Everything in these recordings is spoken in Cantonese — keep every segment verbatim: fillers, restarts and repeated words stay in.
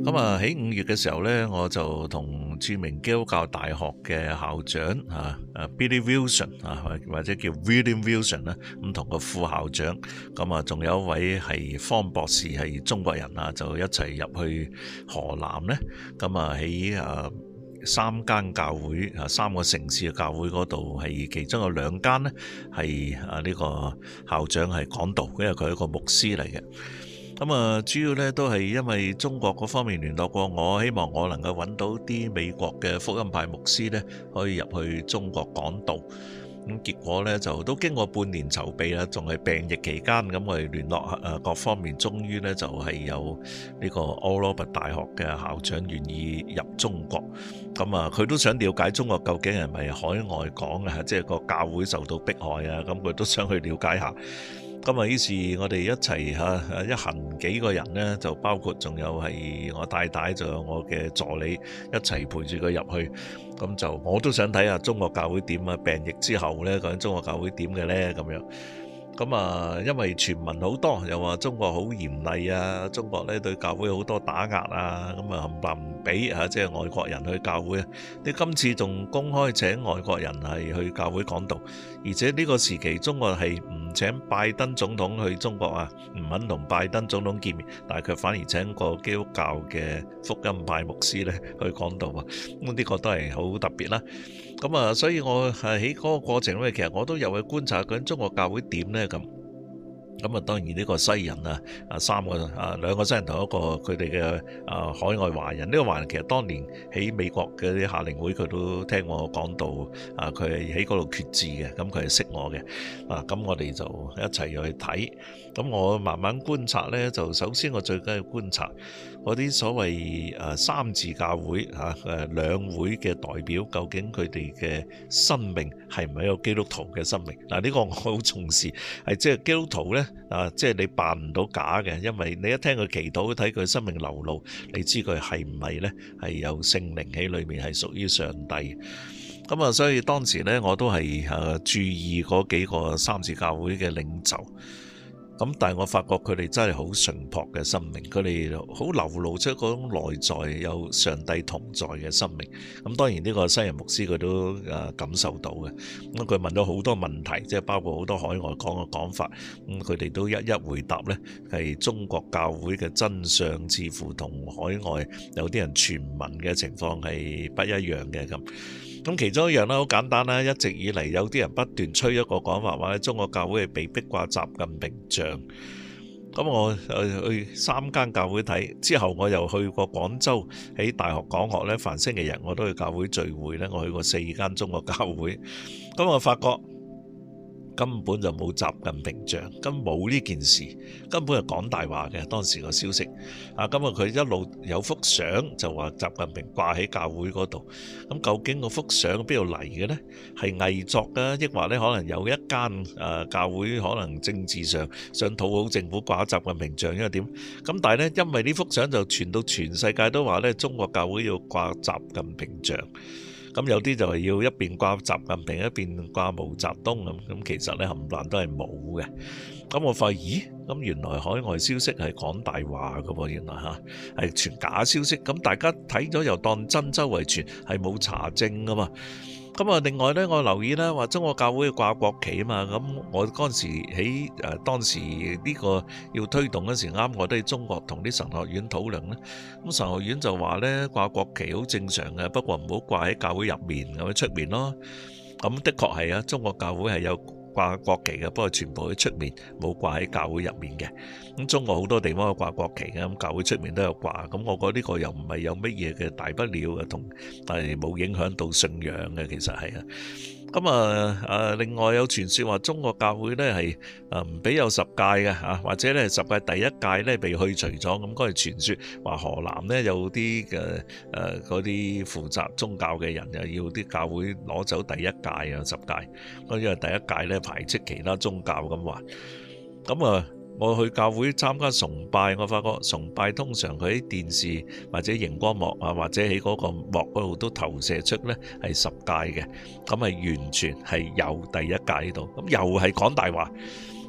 咁啊喺五月嘅時候咧，我就同著名基督教大學嘅校長啊啊 Billy Wilson 啊，或者叫 William Wilson 啦，咁同個副校長，咁啊仲有一位係方博士係中國人啊，就一齊入去河南咧，咁啊喺啊三間教會啊三個城市嘅教會嗰度，係其中有兩間咧係啊呢個校長係講道，因為佢係一個牧師嚟嘅。咁啊，主要咧都係因為中國嗰方面聯絡過我，希望我能夠揾到啲美國嘅福音派牧師咧，可以入去中國講道。咁結果咧就都經過半年籌備啦，仲係病疫期間，咁我哋聯絡誒各方面，終於咧就係有呢個 Oral Roberts 大學嘅校長願意入中國。咁啊，佢都想了解中國究竟係咪海外講啊，即係個教會受到迫害啊，咁佢都想去了解下。咁啊，於是我哋一齊嚇一行幾個人呢，就包括仲有係我太太，仲有我嘅助理一齊陪住佢入去。咁就我都想睇下中國教會點啊，病疫之後呢，究竟中國教會點嘅呢？咁樣。咁啊，因為傳聞好多，又話中國好嚴厲啊，中國咧對教會好多打壓啊，咁啊冚唪唥唔俾啊，即係外國人去教會啊。你今次仲公開請外國人係去教會講道，而且呢個時期中國係唔請拜登總統去中國啊，唔肯同拜登總統見面，但係佢反而請個基督教嘅福音派牧師咧去講道啊。咁呢個都係好特別啦。咁啊，所以我係喺嗰個過程咧，其實我都有去觀察緊中國教會點咧咁。咁啊，當然呢個西人啊，啊三個啊兩個西人同一個佢哋嘅啊海外華人，呢個華人其實當年喺美國嘅啲夏令會佢都聽我講到啊，佢係喺嗰度決志嘅，咁佢係識我嘅啊，咁我哋就一齊去睇。咁我慢慢觀察呢，就首先我最緊要觀察嗰啲所謂誒三自教會嚇誒兩會嘅代表，究竟佢哋嘅生命係唔係一個基督徒嘅生命？嗱，呢個我好重視，係即係基督徒呢，啊，即係你扮唔到假嘅，因為你一聽佢祈禱，睇佢生命流露，你知佢係唔係呢？係有聖靈喺裏面，係屬於上帝。咁啊，所以當時呢，我都係誒注意嗰幾個三自教會嘅領袖。咁但係我發覺佢哋真係好純樸嘅生命，佢哋好流露出嗰種內在有上帝同在嘅生命。咁當然呢個西人牧師佢都誒感受到嘅。咁佢問咗好多問題，即係包括好多海外講嘅講法。咁佢哋都一一回答呢，係中國教會嘅真相似乎同海外有啲人傳聞嘅情況係不一樣嘅咁。咁其中一樣啦，好簡單啦，一直以嚟有啲人不斷吹一個講法，話中國教會係被逼掛習近平像。咁我去三間教會睇之後，我又去過廣州喺大學講學咧，凡星期日我都去教會聚會咧，我去過四間中國教會。咁我發覺根本就冇習近平像，根本冇呢件事，根本係講大話嘅。當時個消息啊，咁啊佢一路有幅相就話習近平掛喺教會嗰度。咁究竟個幅相邊度嚟嘅呢？係偽作嘅，抑或咧可能有一間誒教會可能政治上想討好政府掛習近平像，因為點？咁但係呢，因為呢幅相就傳到全世界都話咧，中國教會要掛習近平像。咁有啲就係要一邊掛習近平，一邊掛毛澤東咁，咁其實咧冚唪唥都係冇嘅。咁我發現，咦？咁原來海外消息係講大話㗎喎，原來嚇係傳假消息。咁大家睇咗又當真，周圍傳係冇查證㗎嘛。咁啊，另外咧，我留意咧話中國教會掛國旗啊嘛，咁我嗰陣時喺誒當時呢個要推動嗰時啱，我都喺中國同啲神學院討論咧。咁神學院就話咧掛國旗好正常嘅，不過唔好掛喺教會入面咁樣出面咯。咁的確係啊，中國教會係有掛國旗嘅，不過全部喺出面，冇掛喺教會入面嘅。咁中國好多地方有掛國旗嘅，咁教會出面都有掛。咁我覺得呢個又唔係有乜嘢嘅大不了嘅，同但係冇影響到信仰嘅，其實係啊。咁啊啊，另外有傳說話中國教會咧係啊唔俾有十戒嘅嚇，或者咧十戒第一戒咧被去除咗。咁嗰係傳說話河南咧有啲嘅誒嗰啲負責宗教嘅人又要啲教會攞走第一戒啊十戒，因為第一戒咧排斥其他宗教咁話。咁啊我去教會參加崇拜，我發覺崇拜通常佢喺電視或者熒光幕啊，或者喺嗰個幕嗰度都投射出咧係十戒嘅，咁係完全係有第一戒喺度，咁又係講大話。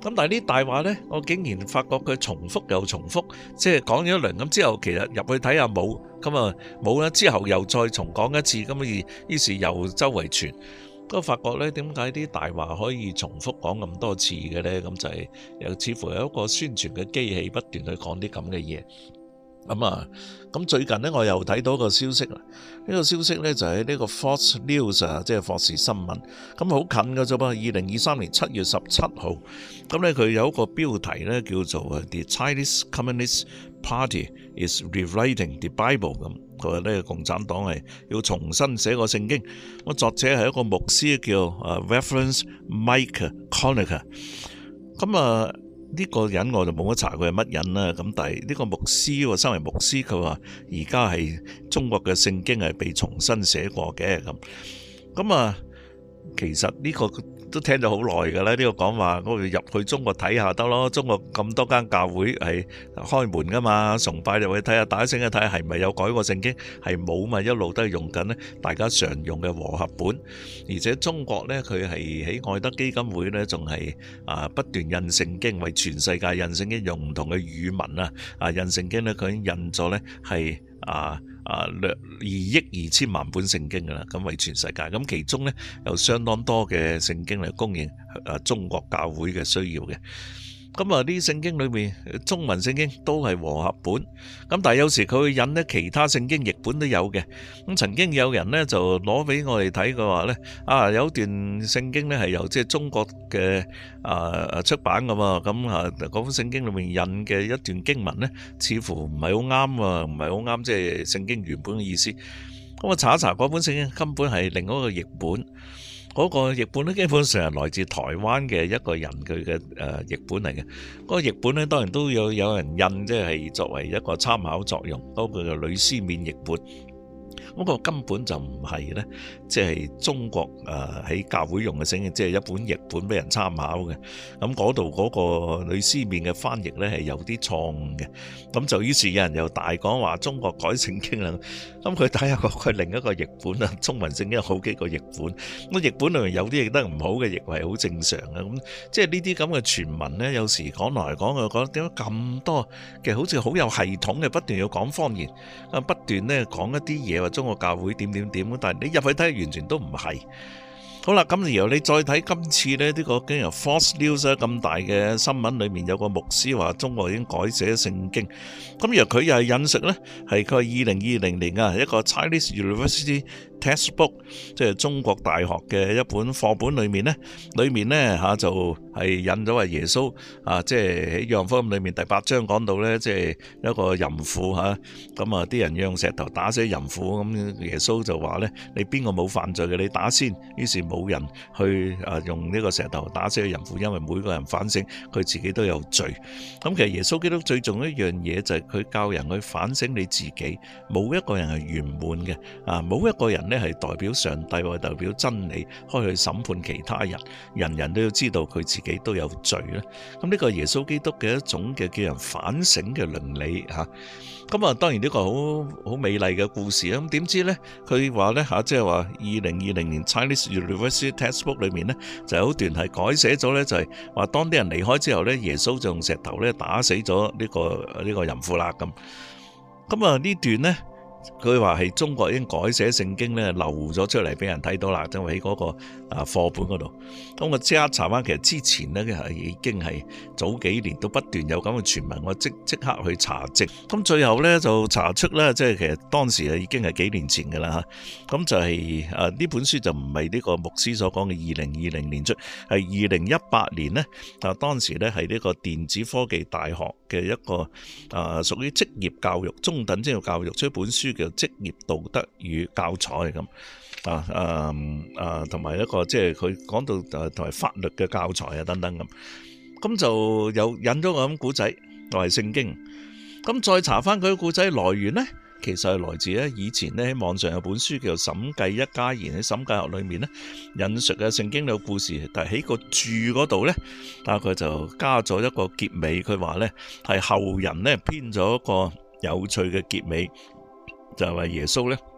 咁但係啲大話呢，我竟然發覺佢重複又重複，即係講咗一輪咁之後，其實入去睇下冇，咁啊冇啦，之後又再重講一次，咁於於是又周圍傳，都發覺呢，點解啲大話可以重複講咁多次嘅呢？咁就係又似乎有一個宣傳嘅機器不斷去講啲咁嘅嘢。咁啊，咁最近呢，我又睇到個消息啦。呢個消息呢，就係呢個 Fox News 啊，即係霍士新聞。咁好近㗎啫噃，二零二三年七月十七號。咁呢，佢有一個標題呢，叫做 The Chinese Communist Party is Rewriting the Bible。咁佢話呢，共產黨係要重新寫個聖經。咁作者係一個牧師叫啊 Reverend Mike Connicker。咁啊。呢個人我就冇乜查佢係乜人啦，咁但係呢個牧師喎，身為牧師，佢話而家係中國嘅聖經係被重新寫過嘅，咁咁啊，其實呢個都聽咗好耐㗎啦。呢個講話我哋入去中國睇下得咯，中國咁多間教會係開門㗎嘛，崇拜入去睇下，打聲去睇下係咪有改過聖經，係冇嘛，一路都係用緊呢大家常用嘅和合本，而且中國呢，佢係喺愛德基金會呢，仲係啊不斷印聖經，為全世界印聖經，用唔同嘅語文啊啊印聖經呢，佢已經印咗呢係啊。啊，略二億二千萬本聖經㗎啦，咁為全世界，咁其中呢，有相當多嘅聖經嚟供應啊中國教會嘅需要嘅。咁啊啲聖經裏面中文聖經都係和合本，咁但係有時佢會引呢其他聖經譯本都有嘅。咁曾經有人呢就攞俾我哋睇嘅話呢，啊有段聖經呢係由即係中國嘅啊出版㗎嘛，咁啊嗰本聖經裏面引嘅一段經文呢，似乎唔係好啱啊，唔係好啱即係聖經原本嘅意思。咁我查一查嗰本聖經根本係另外一個譯本。嗰個譯本咧，基本上係來自台灣嘅一個人佢嘅誒譯本嚟嘅。嗰個譯本咧，當然都有有人印，即係作為一個參考作用。嗰個叫呂思勉譯本。嗰個根本就唔係咧，即係中國誒喺教會用嘅聖經，即係一本譯本俾人參考嘅。咁嗰度嗰個呂思勉嘅翻譯咧係有啲錯誤嘅。咁就於是有人又大講話中國改聖經啦。咁佢睇下個佢另一個譯本啊，中文聖經有好幾個譯本。咁譯本裏面有啲譯得唔好嘅，譯係好正常嘅。咁即係呢啲咁嘅傳聞咧，有時講來講去，覺得點解咁多嘅好似好有系統嘅，不斷要講方言，啊不斷咧講一啲嘢話中國教會點點點，但係你入去睇完全都唔係。好啦，咁然後你再睇今次咧呢個經由 Fox News 咁大嘅新聞裏面有個牧師話中國已經改寫聖經，咁然後佢又係引述咧係佢係二零二零年啊一個 Chinese University Textbook， 即係中國大學嘅一本課本裏面咧，裏面咧嚇就係引咗話耶穌啊，即係喺約翰福音裏面第八章講到咧，即係一個淫婦嚇，咁啊啲人用石頭打死淫婦，咁耶穌就話咧，你邊個冇犯罪嘅你打先，於是冇人去啊用呢個石頭打死個淫婦，因為每個人反省佢自己都有罪。咁其實耶穌基督最重要一樣嘢就係佢教人去反省你自己，冇一個人係圓滿嘅啊，冇一個人咧係代表上帝或代表真理開去審判其他人，人人都要知道佢自己都有罪咧。咁呢個耶穌基督嘅一種嘅叫人反省嘅倫理吓。咁啊，當然呢個好好美麗嘅故事啊。咁點知咧，佢話咧吓，即係話二零二零年 Chinese University Textbook 裏面咧，就有段係改寫咗咧，就係話當啲人離開之後咧，耶穌就用石頭咧打死咗呢個呢個淫婦啦咁。咁啊呢段咧。佢話係中國已經改寫聖經咧，流咗出嚟俾人睇到啦，就喺嗰個啊課本嗰度。咁我即刻查翻，其實之前咧係已經係早幾年都不斷有咁嘅傳聞，我即即刻去查證。咁最後咧就查出咧，即係其實當時啊已經係幾年前㗎啦嚇。咁就係啊呢本書就唔係呢個牧師所講嘅二零二零年出，係二零一八年咧。啊當時咧係呢個電子科技大學嘅一個啊屬於職業教育中等職業教育出一本書。叫職業道德與教材咁啊啊啊，同埋一個即係佢講到誒同埋法律嘅教材啊等等咁，咁就有引咗個咁古仔，就係聖經。咁再查翻佢嘅古仔來源咧，其實係來自咧以前咧喺網上有本書叫做《審計一家言》，喺審計學裏面咧引述嘅聖經嘅故事，但係喺個注嗰度咧，啊佢就加咗一個結尾，佢話咧係後人咧編咗一個有趣嘅結尾。就係話耶穌咧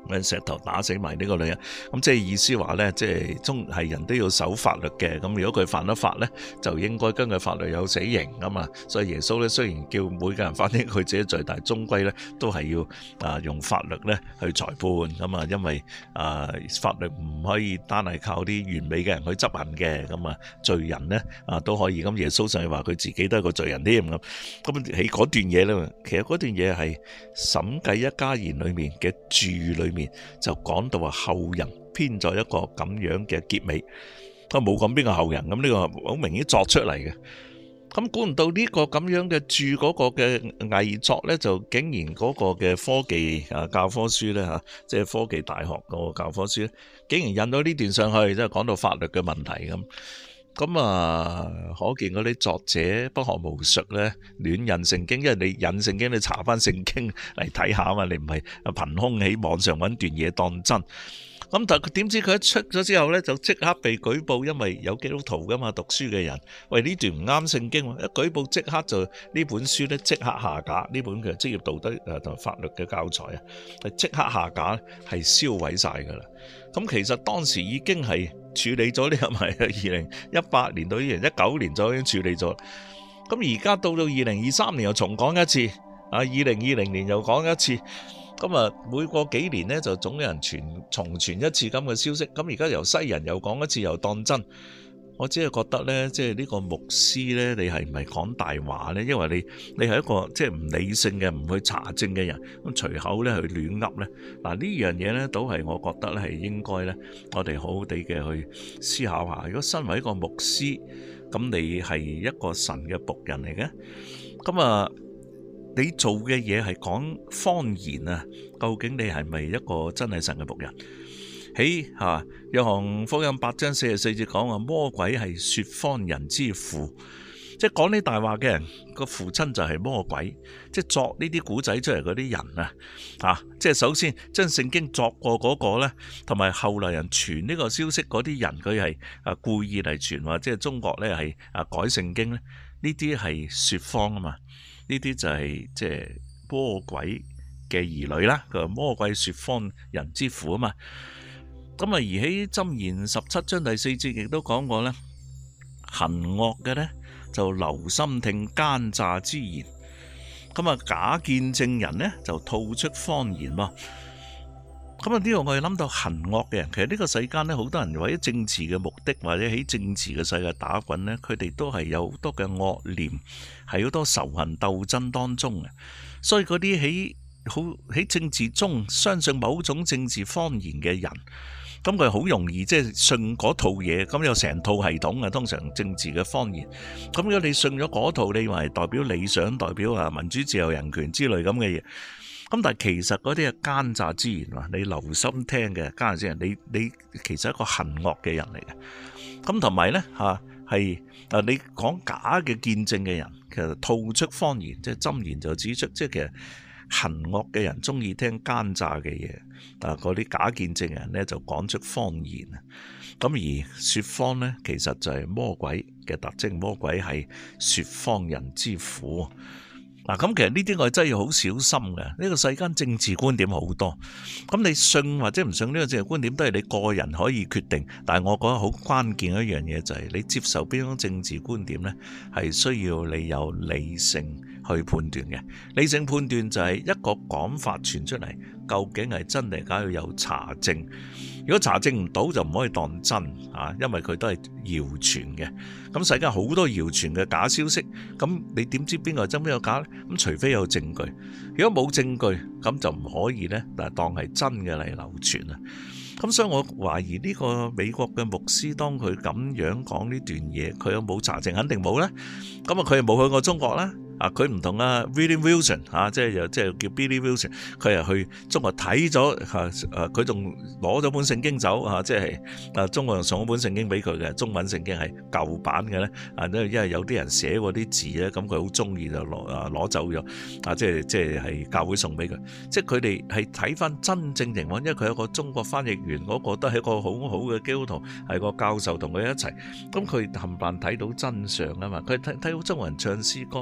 石頭打死埋呢個女人，咁即係意思話呢，即係中係人都要守法律嘅。咁如果佢犯咗法呢，就應該根據法律有死刑㗎嘛。所以耶穌呢，雖然叫每個人反映佢自己罪，但係終歸呢都係要啊用法律呢去裁判咁啊。因為啊法律唔可以單係靠啲完美嘅人去執行嘅，咁啊罪人呢啊都可以。咁耶穌上去話佢自己都係個罪人添咁。咁喺嗰段嘢呢，其實嗰段嘢係審計一家言裏面嘅注裏面。就講到話後人編咗一個咁樣嘅結尾，佢冇講邊個後人，咁呢個好明顯作出嚟嘅。咁估唔到呢個咁樣嘅注嗰個嘅偽作呢，就竟然嗰個嘅科技啊教科書呢，吓，即係科技大學個教科書呢，竟然印咗呢段上去，即係講到法律嘅問題咁。咁啊，可見嗰啲作者不學無術咧，亂印聖經，因為你印聖經，你查翻聖經嚟睇下啊嘛，你唔係憑空喺網上揾段嘢當真。咁但係佢點知佢一出咗之後咧，就即刻被舉報，因為有基督徒噶嘛，讀書嘅人，喂呢段唔啱聖經，一舉報即刻就呢本書咧即刻下架，呢本嘅職業道德誒同法律嘅教材啊，係即刻下架，係燒毀晒噶啦。咁其實當時已經係處理咗呢個咪二零一八年到二零一九年就已經處理咗。咁而家到到二零二三年又重講一次，啊二零二零年又講一次。咁啊，每過幾年呢，就總有人傳重傳一次咁嘅消息。咁而家由西人又講一次，又當真。我只係覺得呢，即係呢個牧師呢，你係唔係講大話呢？因為你你係一個即係唔理性嘅、唔去查證嘅人，咁隨口呢去亂噏呢。嗱呢樣嘢呢，都係我覺得咧係應該呢，我哋好好地嘅去思考下。如果身為一個牧師，咁你係一個神嘅僕人嚟嘅，咁啊。你做嘅嘢係講方言啊？究竟你係咪一個真係神嘅僕人？喺吓約翰福音八章四十四節講話，魔鬼係說謊人之父，即係講呢大話嘅人個父親就係魔鬼，即係作呢啲古仔出嚟嗰啲人啊！啊，即係首先將聖經作過嗰個呢，同埋後來人傳呢個消息嗰啲人，佢係啊故意嚟傳話，即係中國呢係啊改聖經呢，呢啲係說謊啊嘛。呢啲就係即係魔鬼嘅兒女啦，佢話魔鬼說謊人之父啊嘛。咁啊，而喺箴言十七章第四節亦都講過咧，行惡嘅咧就留心聽奸詐之言，咁啊假見證人咧就吐出謊言喎。咁啊，呢個我哋諗到行惡嘅人，其實呢個世間呢，好多人為咗政治嘅目的，或者喺政治嘅世界打滾呢，佢哋都係有好多嘅惡念，係好多仇恨鬥爭當中嘅。所以嗰啲喺好喺政治中相信某種政治謊言嘅人，咁佢好容易即係信嗰套嘢，咁有成套系統嘅，通常政治嘅謊言。咁如果你信咗嗰套，你話係代表理想，代表啊民主自由人權之類咁嘅嘢。咁但係其實嗰啲係奸詐之言啊！你留心聽嘅奸詐之言，你你其實係一個行惡嘅人嚟嘅。咁同埋咧嚇係啊，你講假嘅見證嘅人，其實吐出謊言，即係箴言就指出，即係其實行惡嘅人中意聽奸詐嘅嘢啊！嗰啲假見證人咧就講出謊言啊！咁而説謊咧，其實就係魔鬼嘅特徵，魔鬼係説謊人之父。嗱，咁其實呢啲我真係要好小心嘅。呢個世間政治觀點好多，咁你信或者唔信呢個政治觀點都係你個人可以決定。但係我覺得好關鍵一樣嘢就係你接受邊種政治觀點呢，係需要你有理性去判斷嘅。理性判斷就係一個講法傳出嚟，究竟係真定假，要有查證。如果查證唔到就唔可以當真啊，因為佢都係謠傳嘅。咁世界好多謠傳嘅假消息，咁你點知邊個係真邊個假呢？咁除非有證據，如果冇證據，咁就唔可以呢，但係當係真嘅嚟流傳啊。咁所以我懷疑呢個美國嘅牧師當佢咁樣講呢段嘢，佢有冇查證？肯定冇啦。咁啊，佢又冇去過中國啦。啊，佢唔同啊 William Wilson 啊，即係又即係叫 Billy Wilson，佢又去中國睇咗嚇，誒佢仲攞咗本聖經走嚇，即係啊中國人送咗本聖經俾佢嘅，中文聖經係舊版嘅咧，啊因為因為有啲人寫過啲字咧，咁佢好中意就攞啊攞走咗，啊即係即係係教會送俾佢，即係佢哋係睇翻真正情況，因為佢有個中國翻譯員嗰個都係一個好好嘅基督徒，係個教授同佢一齊，咁佢冚唪唥睇到真相啊嘛，佢睇睇到中國人唱詩歌，睇到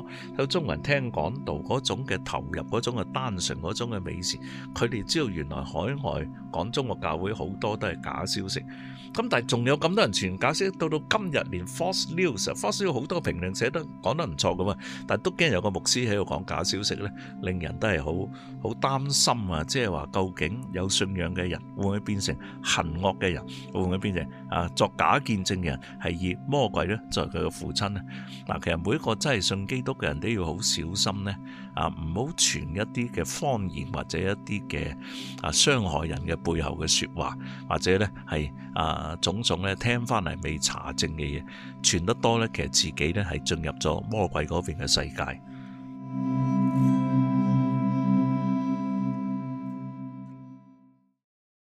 中國人聽講道嗰種嘅投入，嗰種嘅單純，嗰種嘅美善，佢哋知道原來海外講中國教會好多都係假消息。咁但係仲有咁多人傳假消息，到到今日連 Fox News，Fox News 好多評論寫得講得唔錯噶嘛，但係都驚有個牧師喺度講假消息咧，令人都係好好擔心啊！即係話究竟有信仰嘅人會唔會變成行惡嘅人，會唔會變成啊作假見證嘅人，係以魔鬼咧作為佢嘅父親呢？嗱，其實每一個真係信基督嘅人都要好小心咧，啊唔好傳一啲嘅謊言或者一啲嘅啊傷害人嘅背後嘅說話，或者咧係啊。啊，種種咧聽翻嚟未查證嘅嘢傳得多咧，其實自己咧係進入咗魔鬼嗰邊嘅世界。